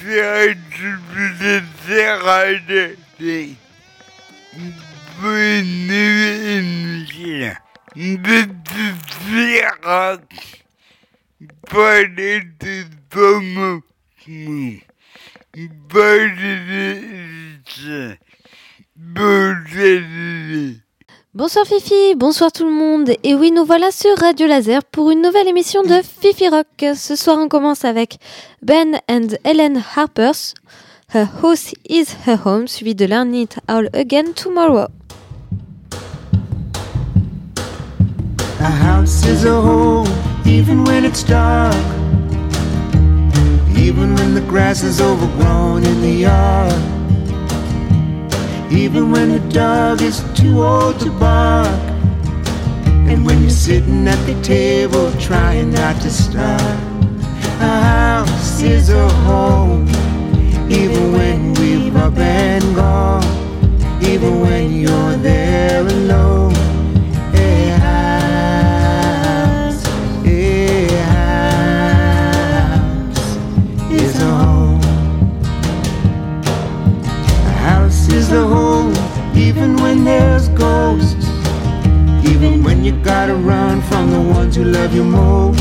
Bonsoir Fifi, bonsoir tout le monde. Et oui, nous voilà sur Radio Laser pour une nouvelle émission de Fifi Rock. Ce soir, on commence avec Ben and Ellen Harper's Her House is Her Home, suivi de Learn It All Again Tomorrow. A house is a home, even when it's dark, even when the grass is overgrown in the yard, even when the dog is too old to bark, and when you're sitting at the table trying not to starve. A house is a home, even when we've up and gone, even when you're there alone. A house is a home. A house is a home, even when there's ghosts, even when you gotta run from the ones who love you most.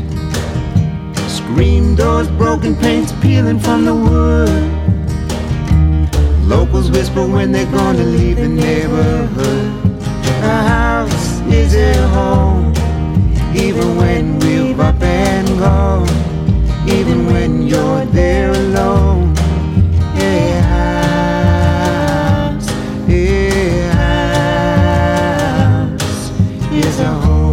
Screen doors, broken paints peeling from the wood. Locals whisper when they're gonna leave the neighborhood. A house is a home, even when we've up and gone, even when you're there alone. A house is a home.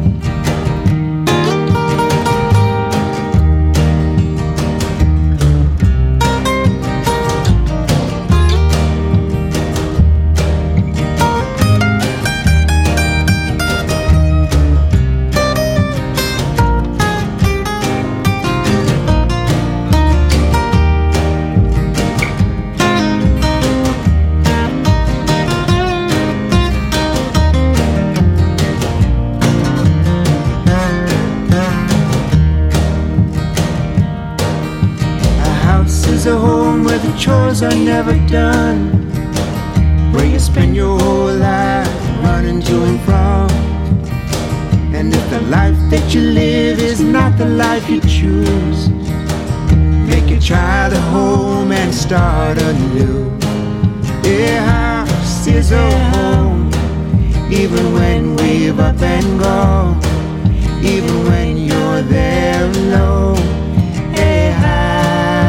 A home where the chores are never done, where you spend your whole life running to and from. And if the life that you live is not the life you choose, make your child a home and start anew. A house is a home, even when we've up and gone, even when you're there alone. A house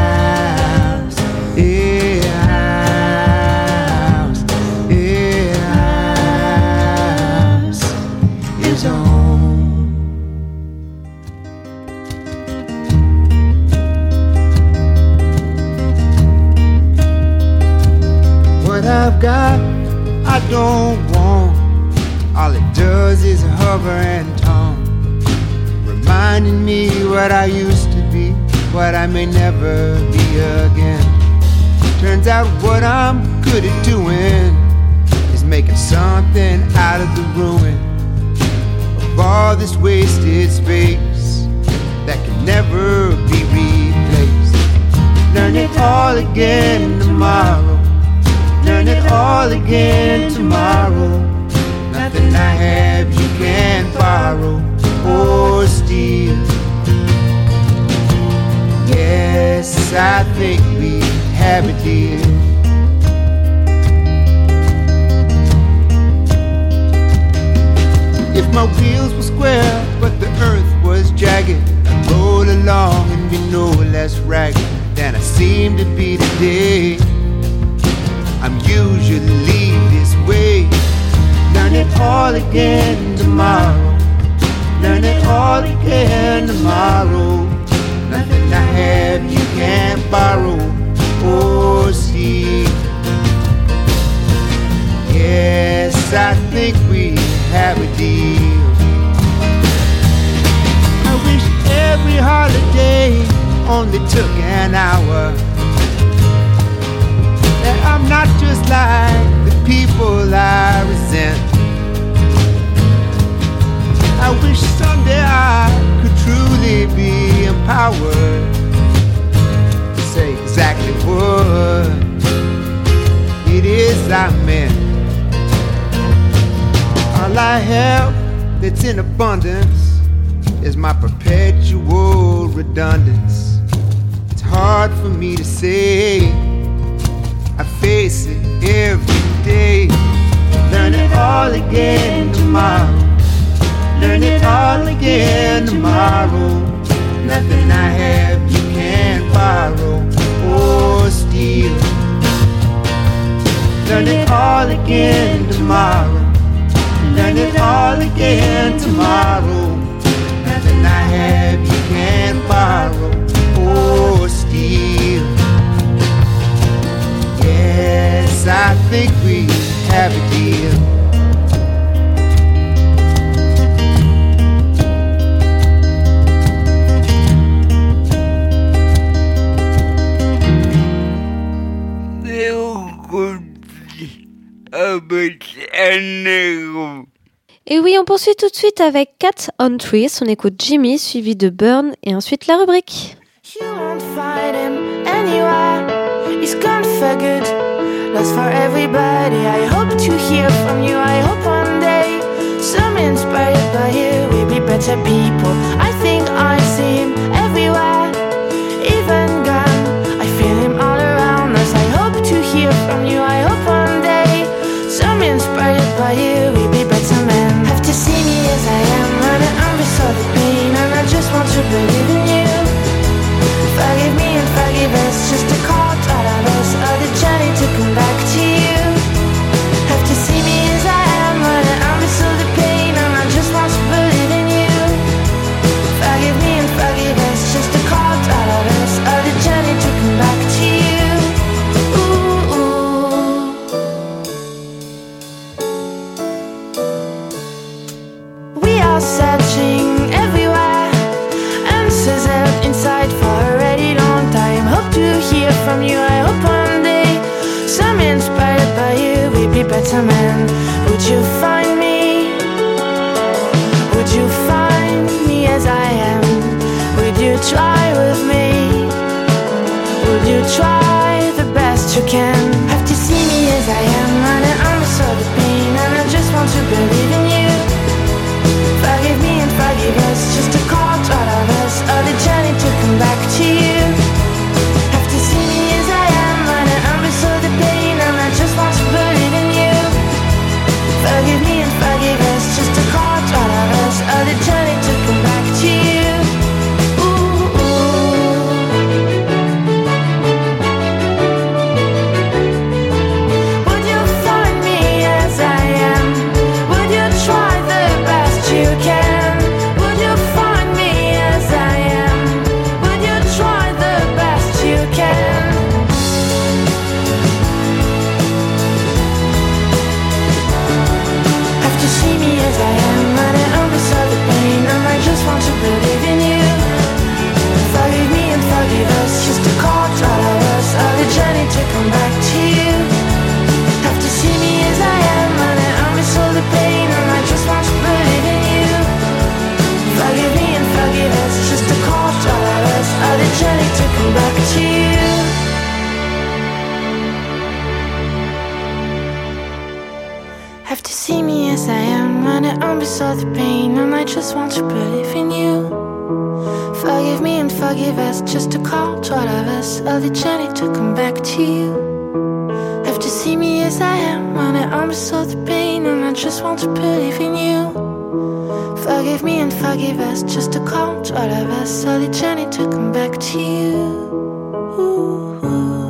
is a home. What I've got, I don't want. All it does is hover and taunt, reminding me what I used to be, what I may never be again. Turns out what I'm good at doing is making something out of the ruin of all this wasted space that can never be replaced. Learn it all again tomorrow, learn it all again tomorrow. Nothing I have you can't borrow or steal. Yes, I think we have a deal. If my wheels were square but the earth was jagged, I'd roll along and be no less ragged than I seem to be today. I'm usually this way. Learn it all again tomorrow, learn it all again tomorrow. Nothing I have you can't borrow or see. Yes, I think we have a deal. I wish every holiday only took an hour, that I'm not just like the people I resent. I wish someday I could truly be empowered to say I meant. All I have that's in abundance is my perpetual redundance. It's hard for me to say, I face it every day. Learn it all again tomorrow. Learn it all again tomorrow. Nothing I have you can't borrow or steal. Learn it all again tomorrow. Learn it all again tomorrow. Nothing I have you can't borrow or steal. Yes, I think we have a deal. Et oui, on poursuit tout de suite avec Cat on Trees. On écoute Jimmy, suivi de Burn, et ensuite la rubrique. You won't find him anywhere. He's gone for good, lost for everybody. I hope to hear from you. I hope one day, some inspired by you, we'll be better people. I think I see him everywhere, even gone. I feel him all around us. I hope to hear from you. I hope one day, some inspired by you, we'll be better men. Have to see me as I am, running under so the pain, and I just want to believe in you. Forgive me and forgive us, just a call out of us, or the journey to come back to you. Have to see me as I am, running under so the pain, and I just want to believe in you. Forgive me and forgive us, just a call out of us, or the journey to come back to you. Ooh, ooh. We are searching everywhere, answers out inside for a really long time. Hope to hear from you. I hope one day, some inspired by you, we'll be better men. Would you find me? Would you find me as I am? Would you try with me? Would you try the best you can? Have to see me as I am, running under so the pain, and I just want to believe in you. Forgive me and forgive us, just a call to all of us, or the journey to come back to you. Have to see me as I am, running under so the pain, and I just want to believe in you. Forgive me and forgive us, just a call to all of us, or the journey to come back to you. Ooh, ooh. Would you find me as I am? Would you try the best you can? Would you find me as I am? Would you try the best you can? Have to see me as I am, running under so the pain, and I just want to believe in you. Forgive me and forgive us, just a call to all of us, or the journey to come back to you. Have to see me as I am, running under so the pain, and I just want to believe in you. Forgive me and forgive us, just a call to all of us, or the journey to come back to you. Have to see me as I am, running under so the pain, and I just want to believe in you. Forgive me and forgive us, just a call to all of us, or the journey to come back to you. Have to see me as I am, running under so the pain, and I just want to believe in you. Forgive me and forgive us, just a call to all of us, or the journey to come back to you. Ooh, ooh.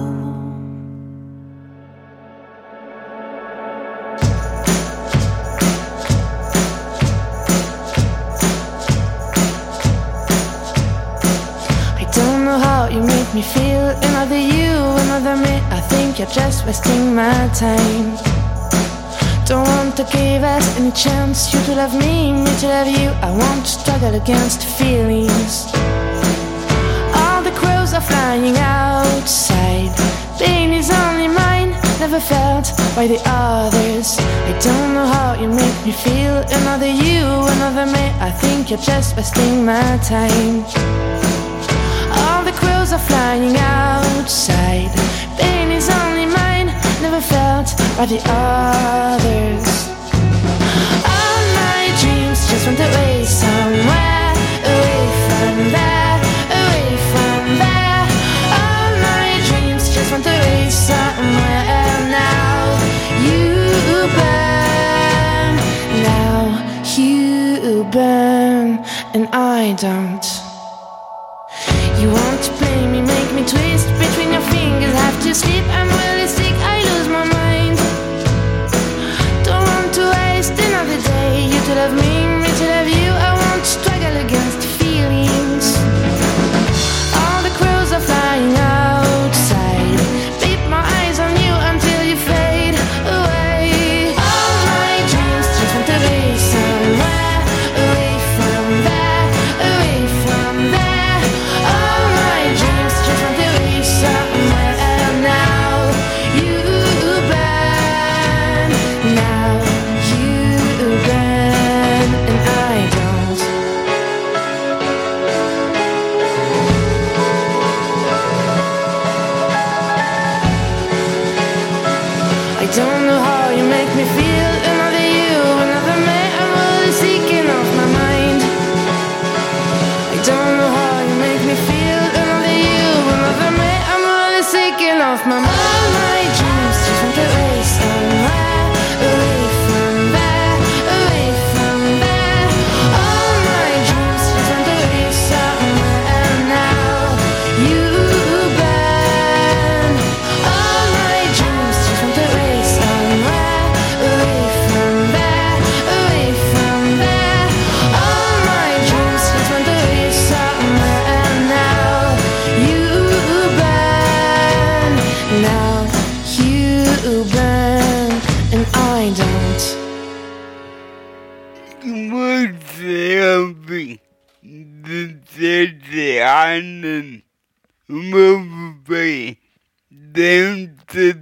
I don't know how you make me feel, another you, another me. I think you're just wasting my time. Don't want to give us any chance, you to love me to love you. I want to struggle against the feelings. All the crows are flying outside. Pain is only mine, never felt by the others. I don't know how you make me feel, another you, another me. I think you're just wasting my time. All the crows are flying outside. Pain is only mine, never felt by the others. All my dreams just went away somewhere, away from there, away from there. All my dreams just went away somewhere. Now you burn, now you burn, and I don't. You want to play me, make me twist between your fingers, have to sleep, I'm really sick, I lose my mind. Don't want to waste another day, you to love me to love you, I won't struggle against feelings. All the crows are flying outside, keep my eyes on you until you fade away. All my dreams just went away somewhere, away from there, away from there. All my dreams just went away somewhere. Now you burn, now you burn, and I don't. I don't know how you make me feel. Another you, another me, I'm really seeking off my mind. I don't know how you make me feel. Another you, another me, I'm really seeking off my mind. All my dreams just went away somewhere, away from there, away from there. All my dreams just went away somewhere, and now you burn. All my dreams just went away somewhere, away from there, away from there. All my dreams just went away somewhere, and now you burn, now you burn, and I don't. Musik de anden movie dem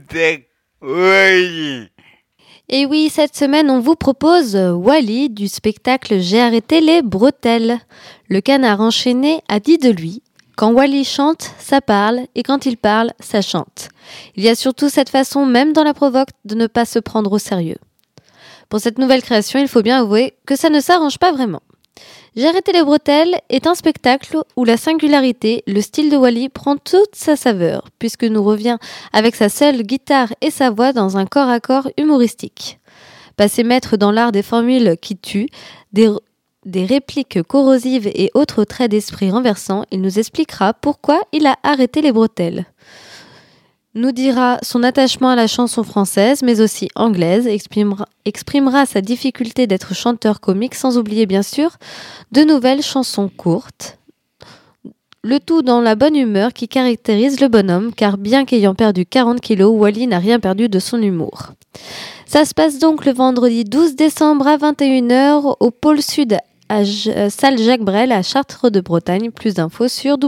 oui. Et oui, cette semaine, on vous propose Wally du spectacle J'ai arrêté les bretelles. Le canard enchaîné a dit de lui: quand Wally chante, ça parle, et quand il parle, ça chante. Il y a surtout cette façon, même dans la provoque, de ne pas se prendre au sérieux. Pour cette nouvelle création, il faut bien avouer que ça ne s'arrange pas vraiment. J'ai arrêté les bretelles est un spectacle où la singularité, le style de Wally prend toute sa saveur, puisque nous revient avec sa seule guitare et sa voix dans un corps à corps humoristique. Passé maître dans l'art des formules qui tuent, des répliques corrosives et autres traits d'esprit renversants, il nous expliquera pourquoi il a arrêté les bretelles. Nous dira son attachement à la chanson française, mais aussi anglaise, exprimera sa difficulté d'être chanteur comique, sans oublier bien sûr de nouvelles chansons courtes. Le tout dans la bonne humeur qui caractérise le bonhomme, car bien qu'ayant perdu 40 kilos, Wally n'a rien perdu de son humour. Ça se passe donc le vendredi 12 décembre à 21h au pôle sud à salle Jacques Brel à Chartres de Bretagne. Plus d'infos sur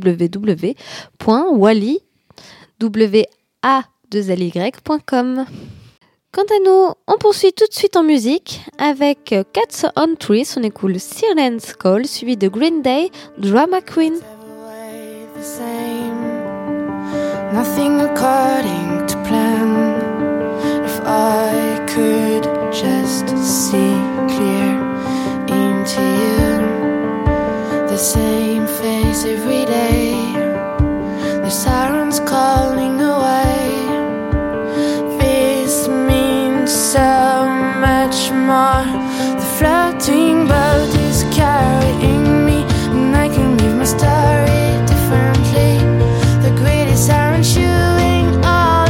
www.wally.com. Quant à nous, on poursuit tout de suite en musique avec Cats on Trees. On écoute Siren's Call suivi de Green Day, Drama Queen. Nothing according to plan. If I could just see clear into you, the same face every day, the sirens calling away. This means so much more. The floating boat is carrying me, and I can leave my story differently. The greatest siren chewing all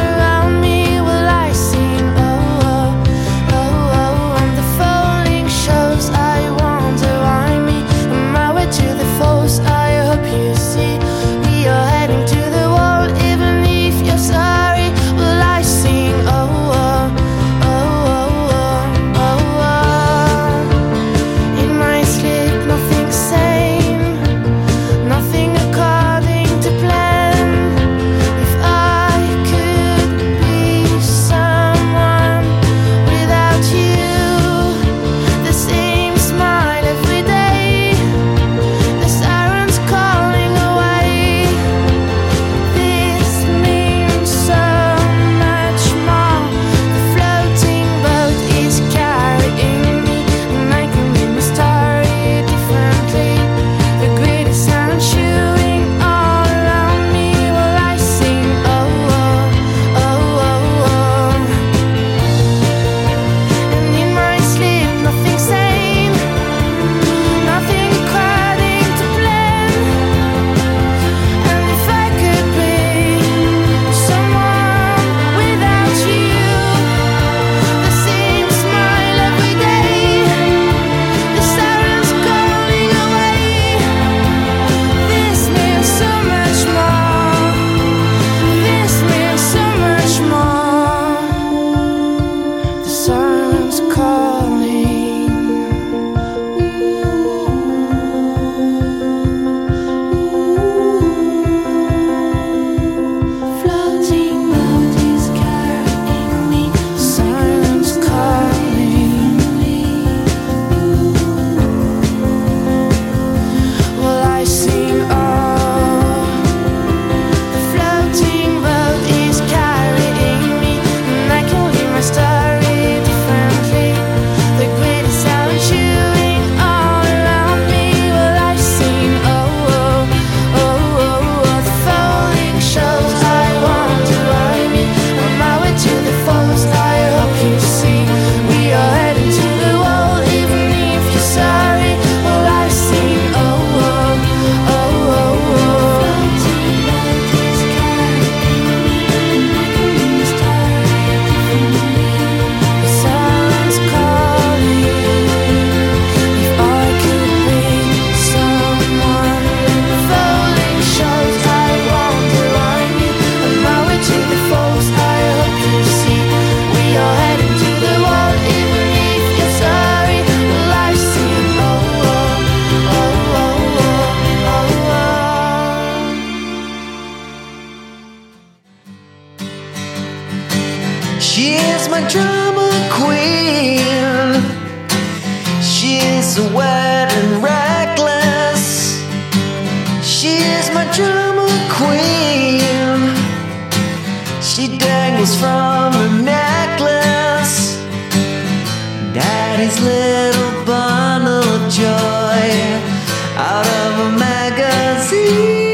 She is my drama queen. She is so wet and reckless. She is my drama queen. She dangles from her necklace. Daddy's little bundle of joy out of a magazine.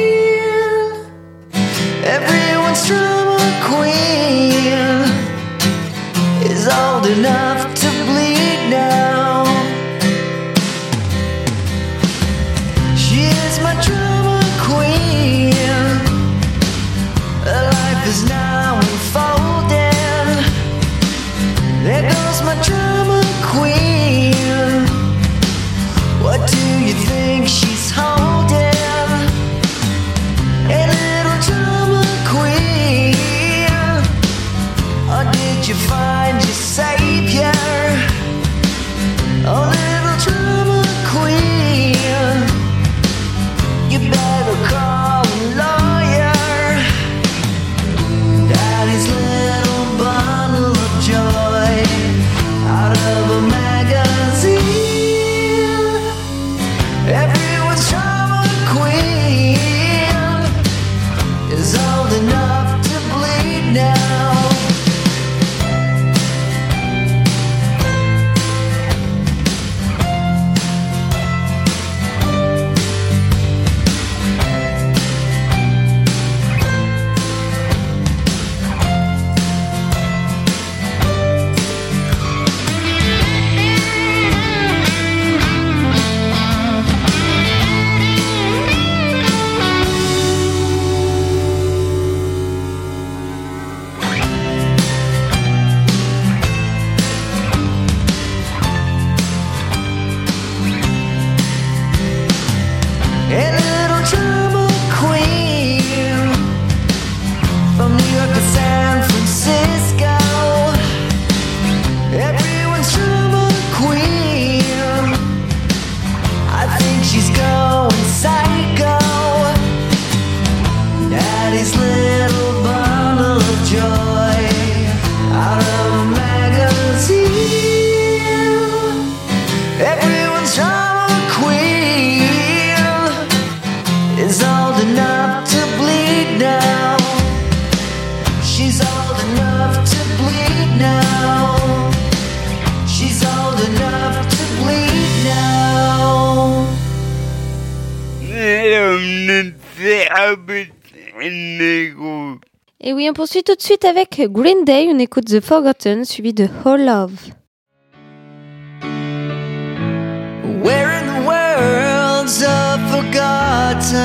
Everyone's drama queen is old enough to bleed now. She is my drama queen. Her life is now unfolding. There goes my drama queen. What do you think she's holding? A little drama queen. Or did you find your savior? Oh, little drama queen, you better call a lawyer. Daddy's little bundle of joy out of a magazine. Everyone's drama queen is old enough to bleed now. A little drama queen from New York to San Francisco. Everyone's drama queen. I think she's going psycho. Daddy's little bundle of joy out of a magazine. Everyone's drama queen is old enough to bleed now. She's old enough to bleed now. She's old enough to bleed now. Et oui, on poursuit tout de suite avec Green Day, on écoute The Forgotten, suivi de Whole Love. Where in the world's the forgotten?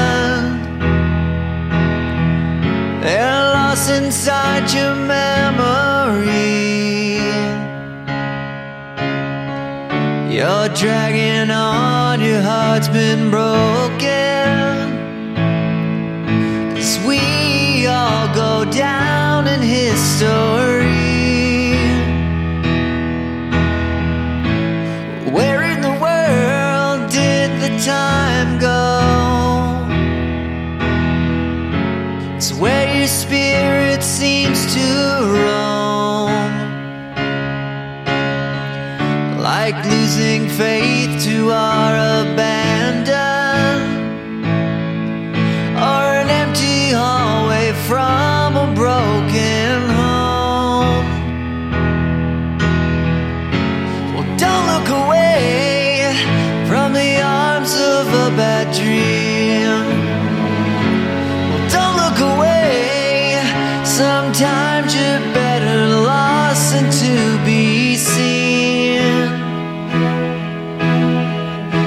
They're lost inside your memory. You're dragging on, your heart's been broken. 'Cause we all go down in history. Where in the world did the time go? It's where your spirit seems to roam. Like losing faith to our abandon, or an empty hallway from a broken home. Well, don't look away from the arms of a bad dream. Well, don't look away. Sometimes you're better lost than to be seen.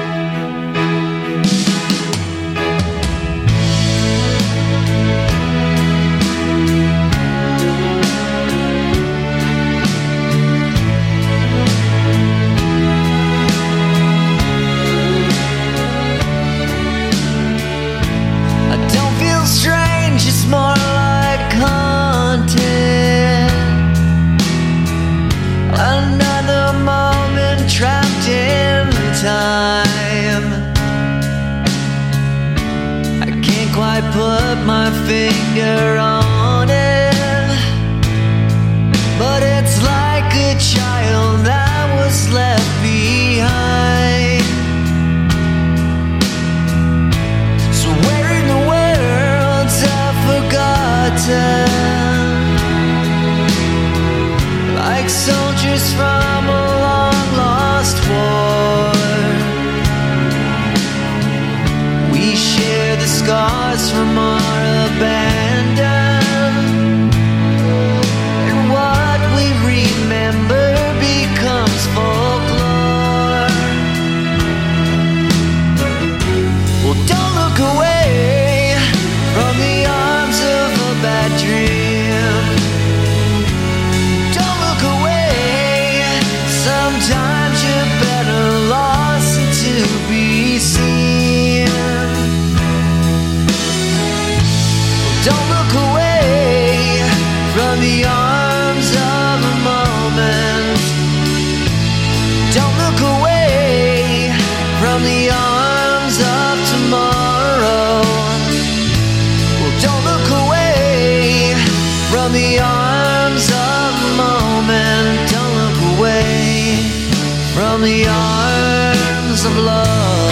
the arms of a moment. Don't look away from the arms of tomorrow. Well, don't look away from the arms of a moment. Don't look away from the arms of love.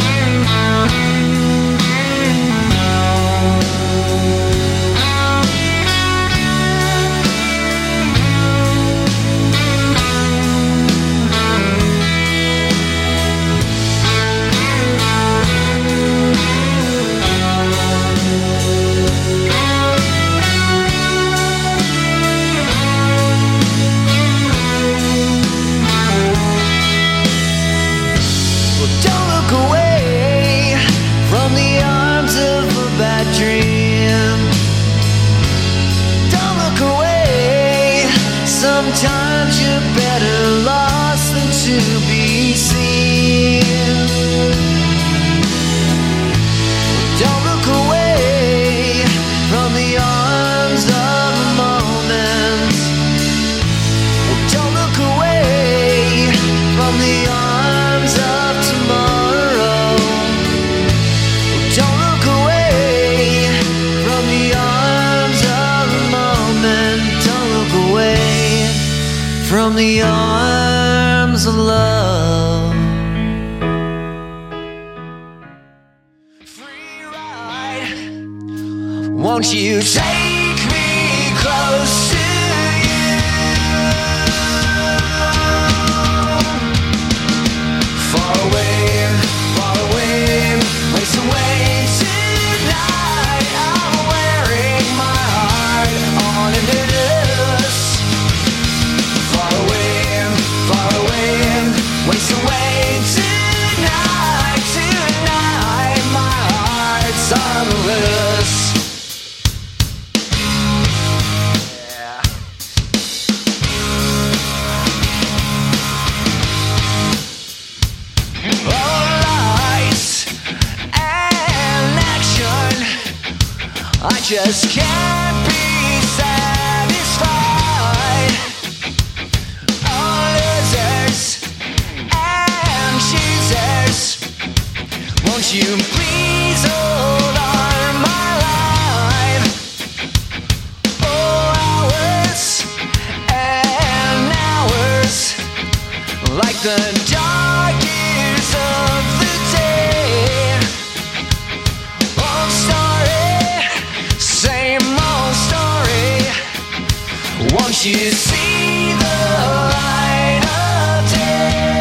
Sometimes you're better lost than to be seen. Don't look away from the arms of a moment. Don't look away from the arms of tomorrow. Don't look away from the arms of a moment. Don't look away from the arms of love. Free ride, won't you take me close to you? Far away, waste away tonight. I'm wearing my heart on a noose. Far away, waste away tonight, tonight. My heart's on the loose. Yeah. All lights and action, I just can't be satisfied. Won't you please hold on my life? Oh, hours and hours, like the dark years of the day. Old story, same old story. Won't you see the light of day?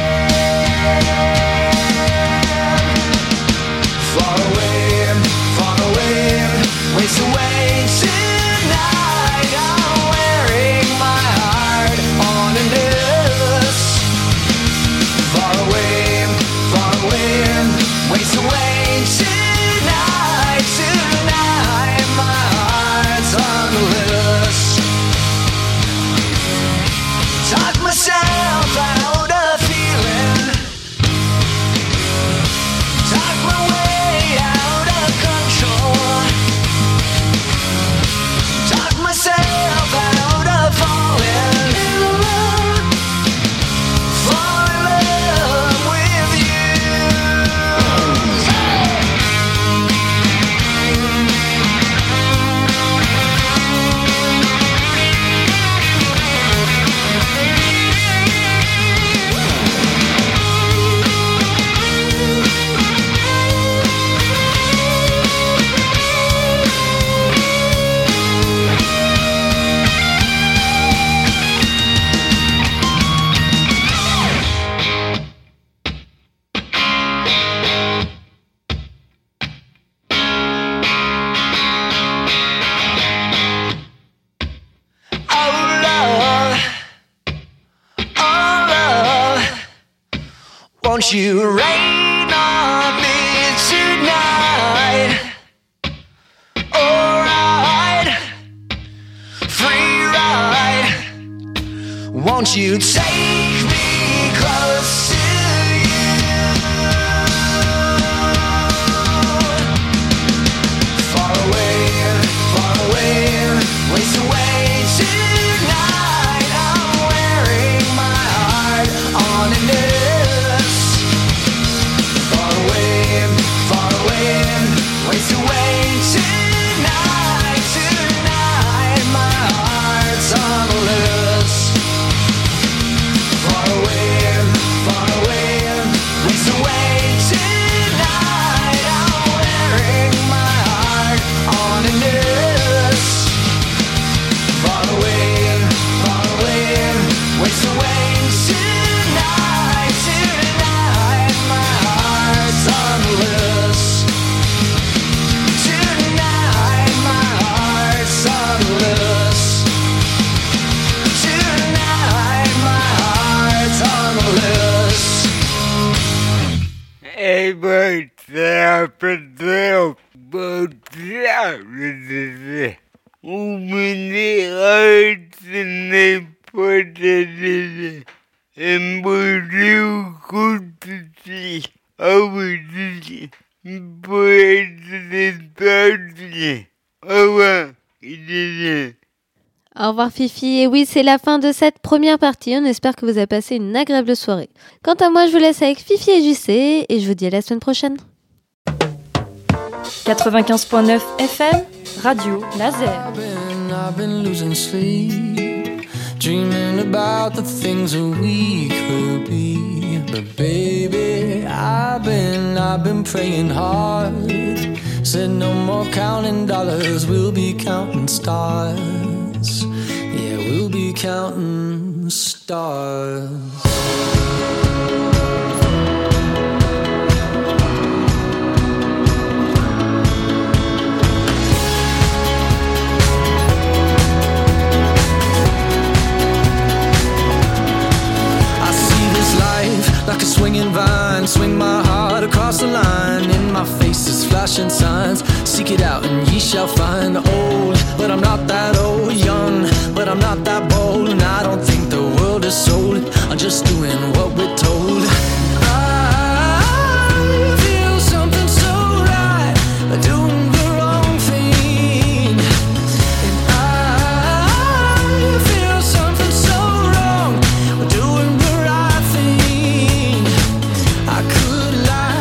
Far away, waste away tonight. I'm wearing my heart on a noose. Far away, waste away tonight, tonight. My heart's on the loose. Talk myself out of feeling. Talk my way out of control. Talk myself out of falling in love. Fall in love with you. Won't you rain on me tonight? Alright, free ride. Won't you take me close to you? Far away, waste away Pedro Botrave. Umiliate potete emboliu cututi avuti poete tardi. Au revoir. Au revoir Fifi, et oui c'est la fin de cette première partie, on espère que vous avez passé une agréable soirée. Quant à moi je vous laisse avec Fifi et JC et je vous dis à la semaine prochaine. 95.9 FM, Radio Laser. I've been losing sleep, dreaming about the things that we could be. But baby, I've been praying hard. Said no more counting dollars, we'll be counting stars. Yeah, we'll be counting stars. Like a swinging vine, swing my heart across the line. In my face is flashing signs. Seek it out and ye shall find. Old, but I'm not that old. Young, but I'm not that bold. And I don't think the world is sold. I'm just doing what we're told. I feel something so right, doing the wrong thing. And I feel something so wrong, doing the right thing. I could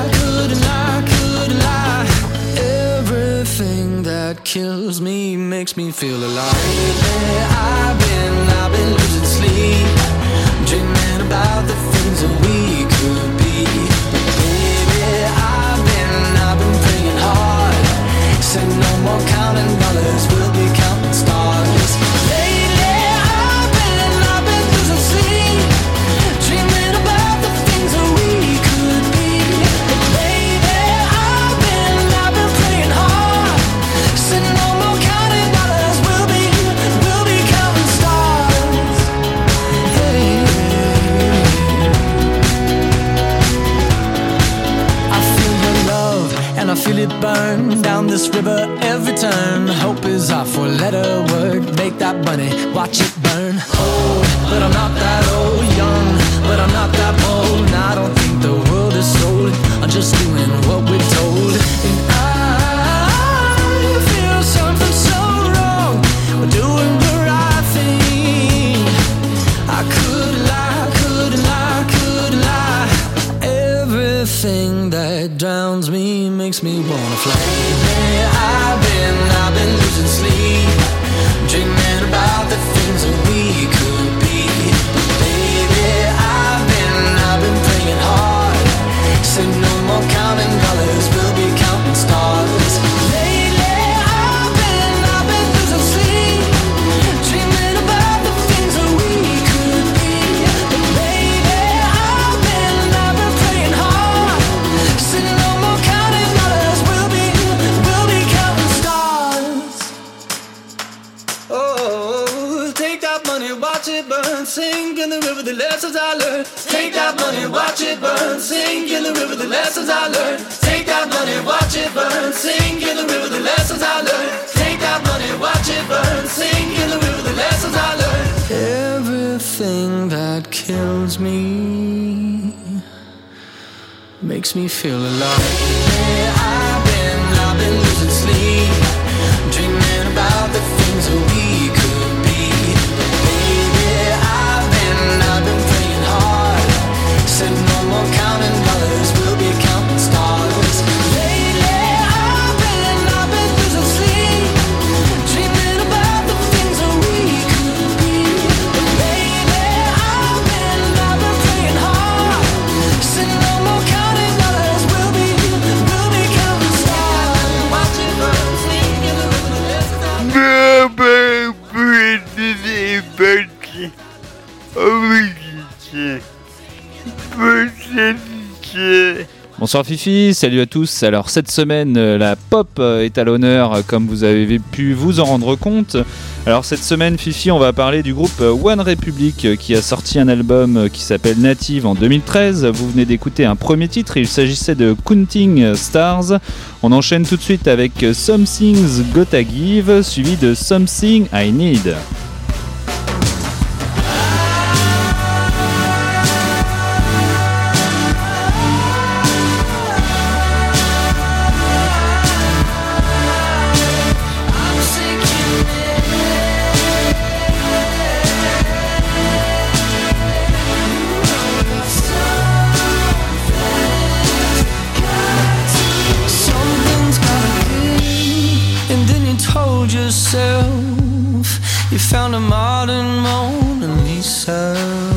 lie. Everything that kills me makes me feel alive. Lately, I've been losing sleep, dreaming about the things that we could be. Baby, I've been praying hard. Said no more counting dollars, we'll be counting stars. Lately, I've been losing sleep, dreaming about the things that we could be. Baby, I've been praying hard. Said no more counting dollars, we'll be counting stars. Hey. I feel your love and I feel it burn down this river every turn. Hope is our four-letter word. Make that money, watch it burn. Old, but I'm not that old. Young, but I'm not that bold. And I don't think the world is sold. I'm just doing what we're told. And I feel something so wrong. We're doing the right thing. I could lie. Everything that drowns me makes me wanna fly. Lately, I've been losing sleep, dreaming about the things that we could be. Baby, I've been praying hard. Said no more counting dollars, we'll be counting stars. Lately, I've been losing sleep, dreaming about the things that we could be. Baby, I've been praying hard. Said no more counting dollars, we'll be counting stars. Oh, take that money, watch it burn, sink in the river, the lessons I learned. Take that money, watch it burn, sink in the river, the lessons I learned. Take that money, watch it burn, sink in the river, the lessons I learned. Take that money, watch it burn, sink in the river, the lessons I learned. Everything that kills me makes me feel alive. Yeah, I've been losing sleep, dreaming about the things that we could be. Baby, I've been praying hard. Said no more counting dollars, we'll be counting stars. Lately, I've been losing sleep, dreaming about the things that we could be. Baby, I've been praying hard. Said no more counting dollars, we'll be counting Bonsoir Fifi, salut à tous. Alors cette semaine, la pop est à l'honneur, comme vous avez pu vous en rendre compte. Alors cette semaine, Fifi, on va parler du groupe One Republic qui a sorti un album qui s'appelle Native en 2013. Vous venez d'écouter un premier titre, il s'agissait de Counting Stars. On enchaîne tout de suite avec Something's Gotta Give, suivi de Something I Need. You found a modern Mona Lisa.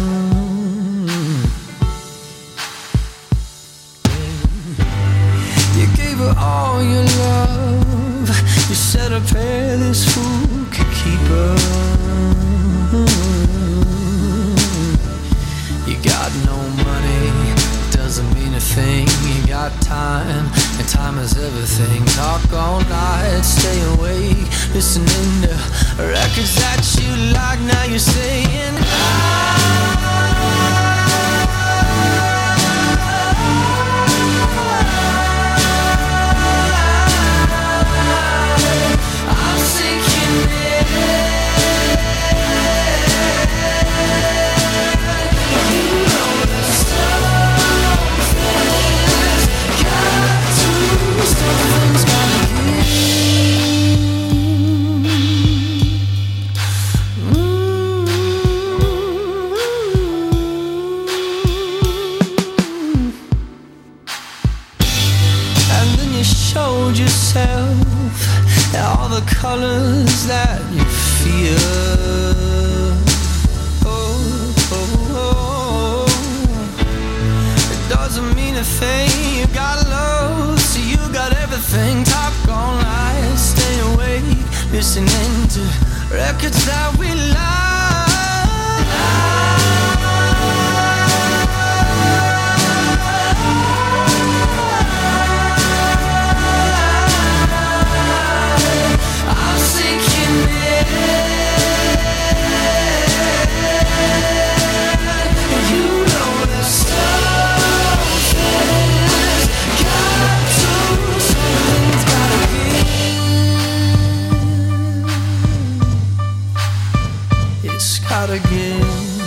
You gave her all your love. You said a prayer this fool could keep her. You got no money, doesn't mean a thing. You got time, and time is everything. Talk all night, stay awake, listening to records that you like. Now you're saying I'm sinking in. You know the something's got to, something's gotta give. Showed yourself all the colors that you feel. It doesn't mean a thing. You got love, so you got everything. Talk all night, stay awake, listening to records that we like. Gotta give.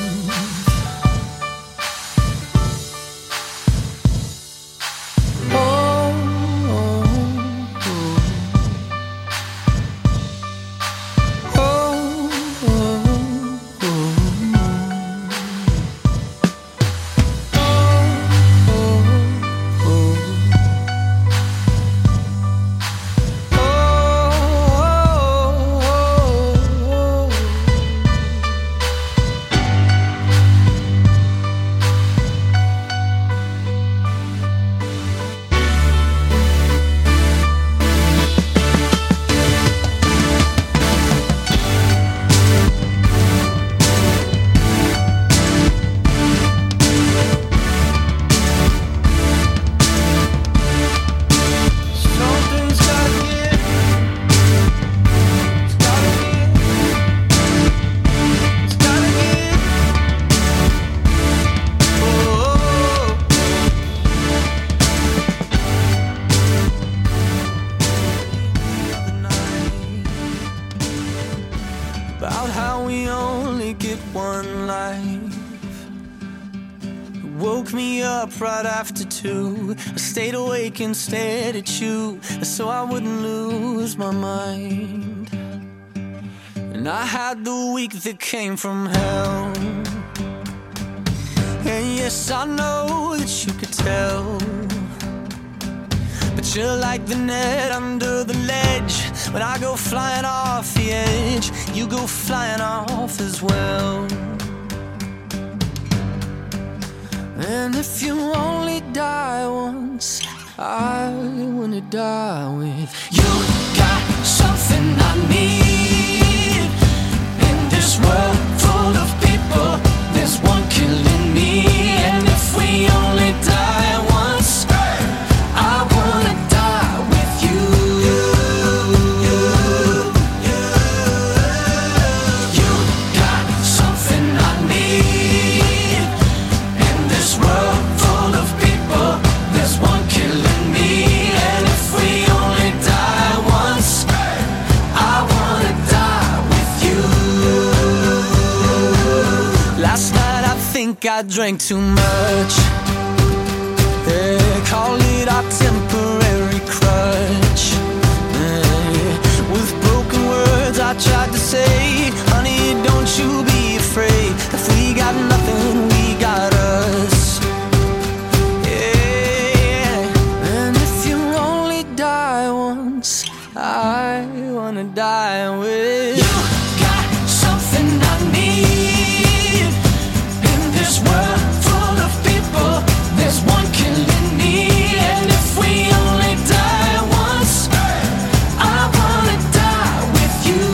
About how we only get one life. You woke me up right after 2. I stayed awake and stared at you so I wouldn't lose my mind. And I had the week that came from hell. And yes, I know that you could tell, but you're like the net under the ledge. When I go flying off the edge, you go flying off as well. And if you only die once, I wanna die with you. Got something I need in this world full of people. There's one killing me, and if we only die once, think I drank too much. Yeah, call it our temporary crutch. Yeah, with broken words I tried to say, honey, don't you be afraid. If we got nothing, we got us. Yeah, and if you only die once, I wanna die with you. Got something I need in this world full of people. There's one killing me, and if we only die once, I wanna die with you.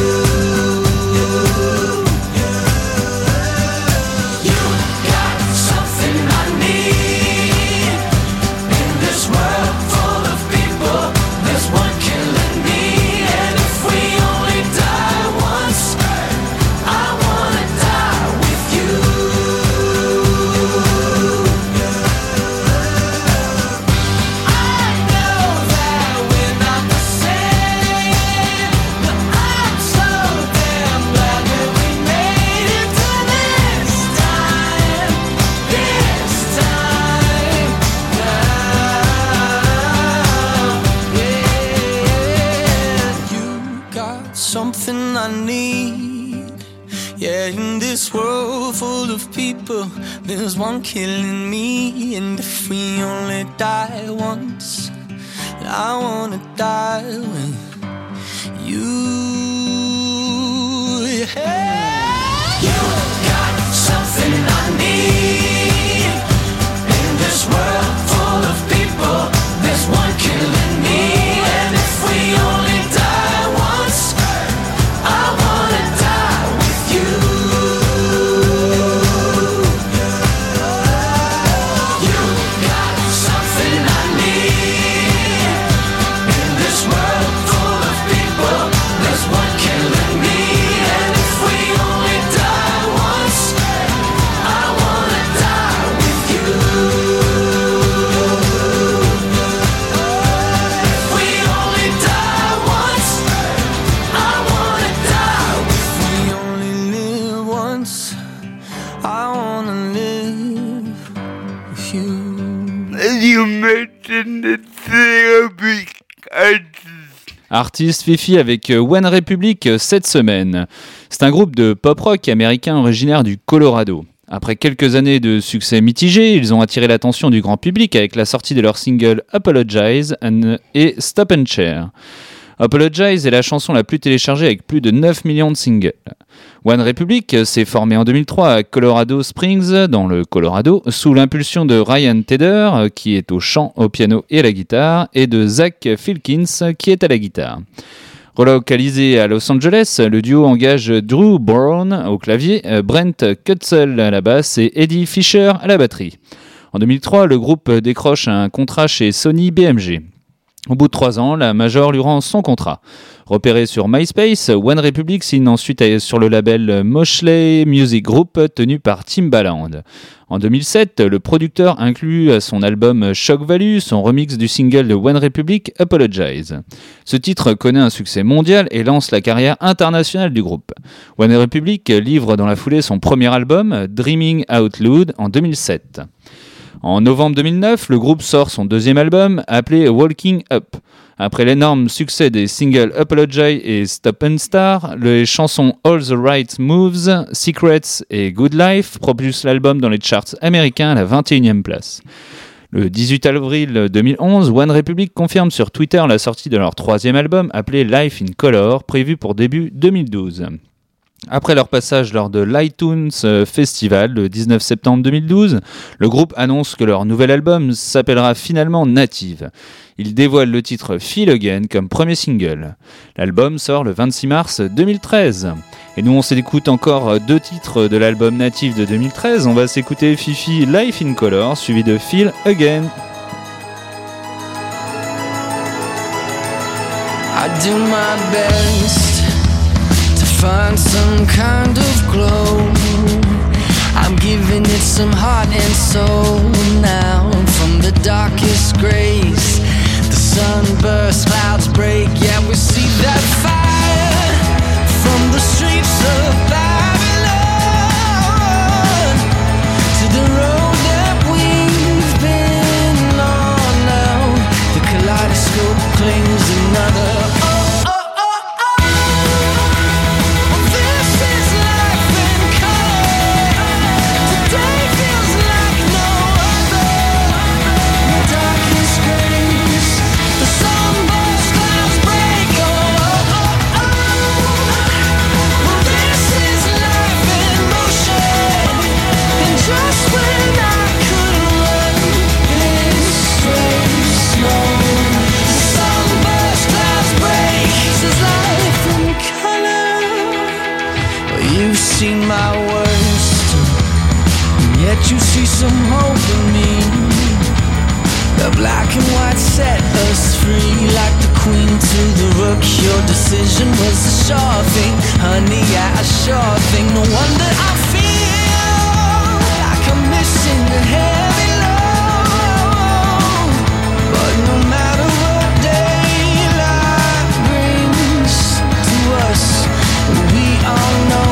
You got something I need in this world full of people. There's one killing me, and if we only die once, I wanna die with you. I know that we're not the same, but I'm so damn glad that we made it to this time now. Yeah, you got something I need. Yeah, in this world full of people, there's one killing me, and if we only die once, I wanna die with you. Yeah. You got something I need in this world full of people. There's one killing me, and if we only die once, I wanna die with you. You got something I need in this world full of people. There's one killing me, and if we only die once, I wanna die with you. If we only die once, I wanna die with you. We only live once, I wanna live with you. You mentioned the therapy Artiste Fifi avec One Republic cette semaine. C'est un groupe de pop-rock américain originaire du Colorado. Après quelques années de succès mitigé, ils ont attiré l'attention du grand public avec la sortie de leur single Apologize et Stop and Share. Apologize est la chanson la plus téléchargée avec plus de 9 millions de singles. One Republic s'est formé en 2003 à Colorado Springs, dans le Colorado, sous l'impulsion de Ryan Tedder, qui est au chant, au piano et à la guitare, et de Zach Filkins, qui est à la guitare. Relocalisé à Los Angeles, le duo engage Drew Brown au clavier, Brent Kutzel à la basse et Eddie Fisher à la batterie. En 2003, le groupe décroche un contrat chez Sony BMG. Au bout de 3 ans, la major lui rend son contrat. Repéré sur MySpace, One Republic signe ensuite sur le label Moshley Music Group tenu par Timbaland. En 2007, le producteur inclut à son album Shock Value son remix du single de One Republic, Apologize. Ce titre connaît un succès mondial et lance la carrière internationale du groupe. One Republic livre dans la foulée son premier album, Dreaming Out Loud, en 2007. En novembre 2009, le groupe sort son deuxième album, appelé Walking Up. Après l'énorme succès des singles Apologize et Stop and Start, les chansons All the Right Moves, Secrets et Good Life propulsent l'album dans les charts américains à la 21e place. Le 18 avril 2011, One Republic confirme sur Twitter la sortie de leur troisième album, appelé Life in Color, prévu pour début 2012. Après leur passage lors de l'iTunes Festival le 19 septembre 2012, le groupe annonce que leur nouvel album s'appellera finalement Native. Ils dévoilent le titre Feel Again comme premier single. L'album sort le 26 mars 2013. Et nous on s'écoute encore 2 titres de l'album Native de 2013. On va s'écouter Fifi Life in Color suivi de Feel Again. I do my best to find some kind of glow. I'm giving it some heart and soul now. From the darkest grays, the sunburst, clouds break. Yeah, we see that fire from the streets of Babylon. seen my worst, and yet you see some hope in me. The black and white set us free, like the queen to the rook. Your decision was a sure thing, honey, yeah, a sure thing. No wonder I feel like I'm missing a heavy load. But no matter what daylight brings to us, we all know.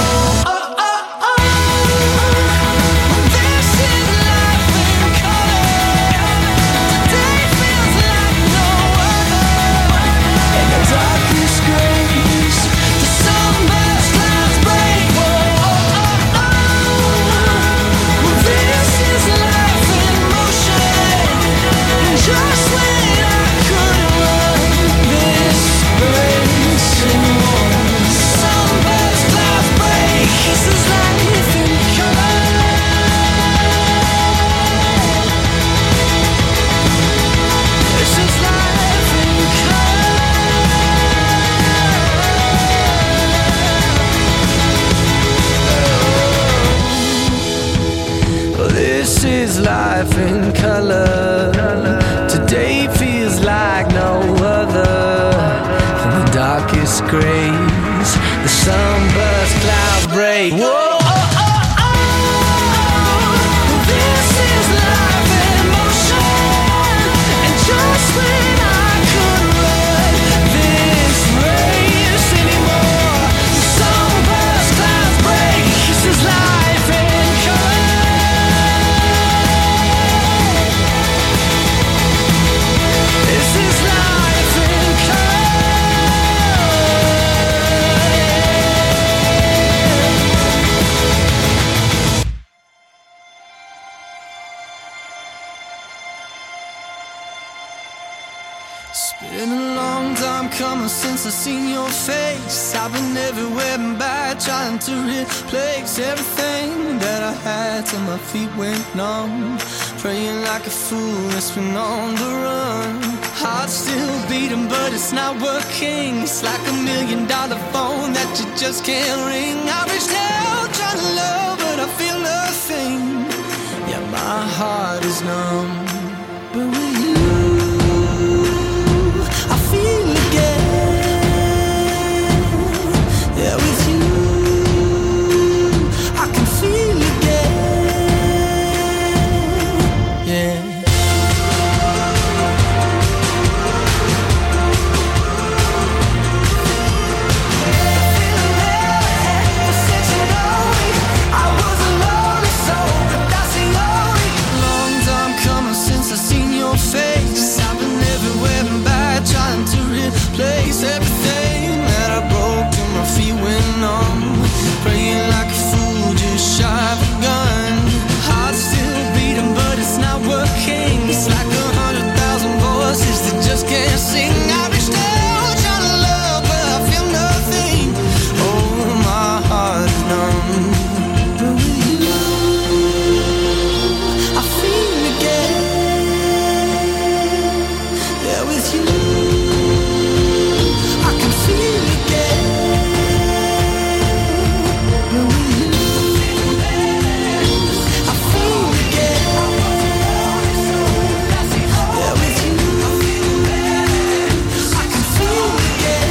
This is life in color. Today feels like no other. In the darkest grays, the sunburst clouds break. Whoa. This is life in motion, and just when I couldn't run this race anymore, the sunburst clouds break. This is life in color. This is life in It's been a long time coming since I've seen your face. I've been everywhere and back, trying to replace everything that I had till my feet went numb. Praying like a fool, it's been on the run. Heart still beating, but it's not working. It's like $1 million phone that you just can't ring. I reached out trying to love, but I feel nothing. Yeah, my heart is numb. But with you, I feel again. Yeah, with you, I can feel again. Yeah. Face. I've been everywhere and back, trying to replace everything that I broke till my feet went numb. Praying like a fool, just shy of a gun. Heart still beating, but it's not working. It's like 100,000 voices that just can't sing. I reached out trying to love, but I feel nothing. Oh, my heart is numb. But with you, I feel again. With you, I can feel again. But with you, I feel again. Yeah, with you, I can feel again.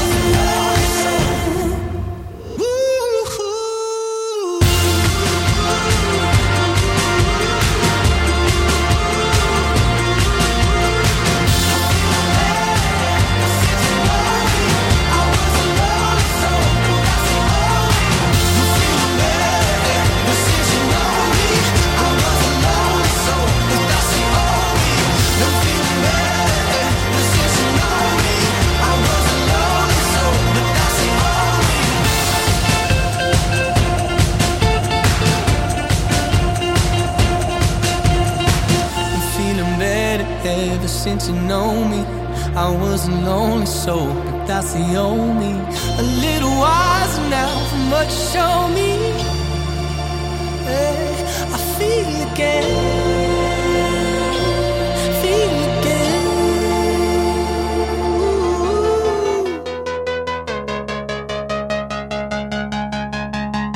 Ever since you know me, I wasn't lonely, so but that's the only. A little wiser now from what you show me. Hey, I feel again, feel again. Ooh.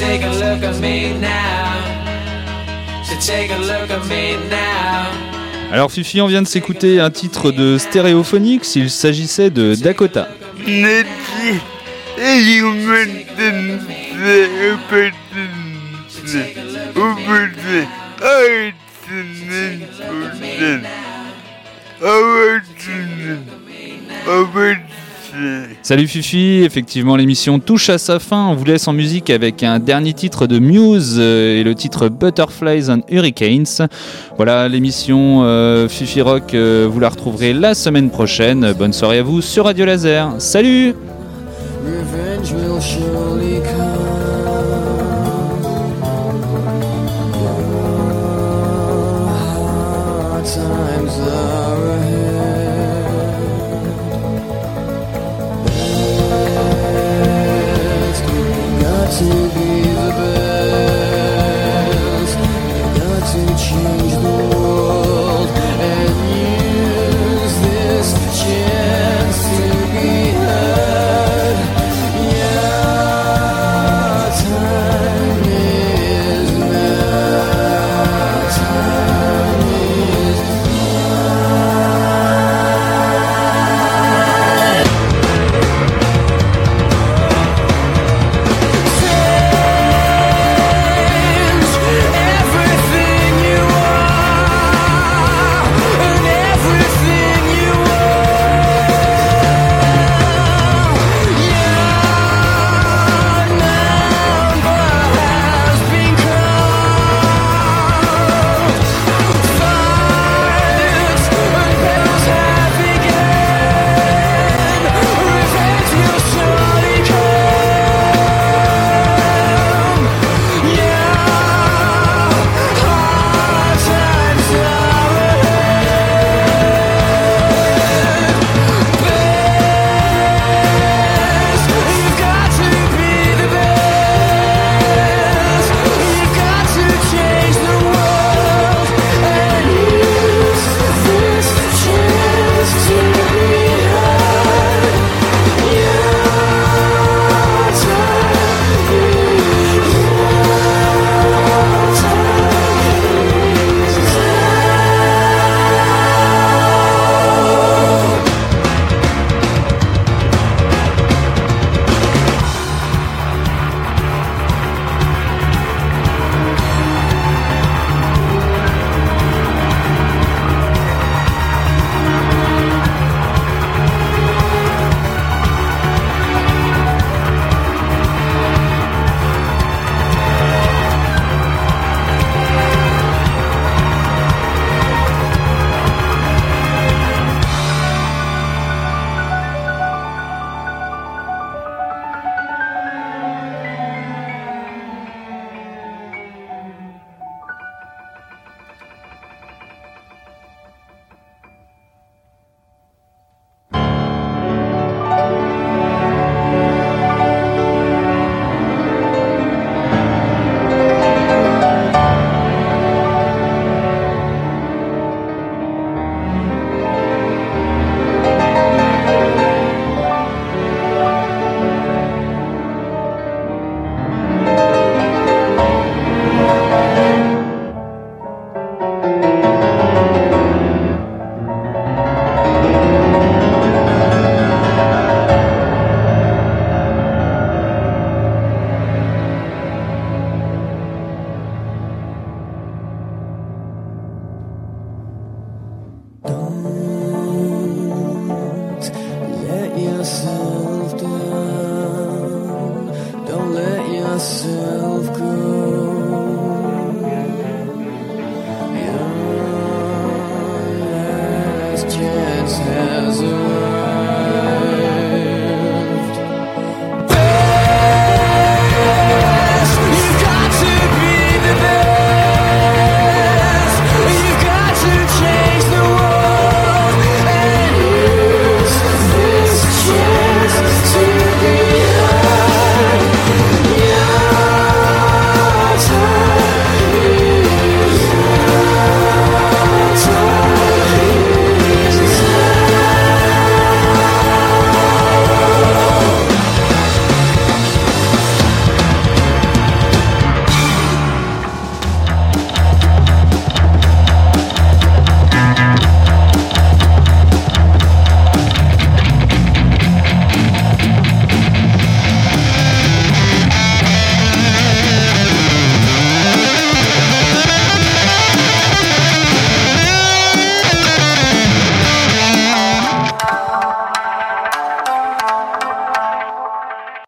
take a look at me now. So take a look at me now. Alors Fifi, on vient de s'écouter un titre de Stereophonics, il s'agissait de Dakota. Salut Fifi, effectivement l'émission touche à sa fin, on vous laisse en musique avec un dernier titre de Muse et le titre Butterflies and Hurricanes. Voilà l'émission Fifi Rock, vous la retrouverez la semaine prochaine. Bonne soirée à vous sur Radio Laser, salut. Revenge will surely come. Hard times are ahead. Best we got to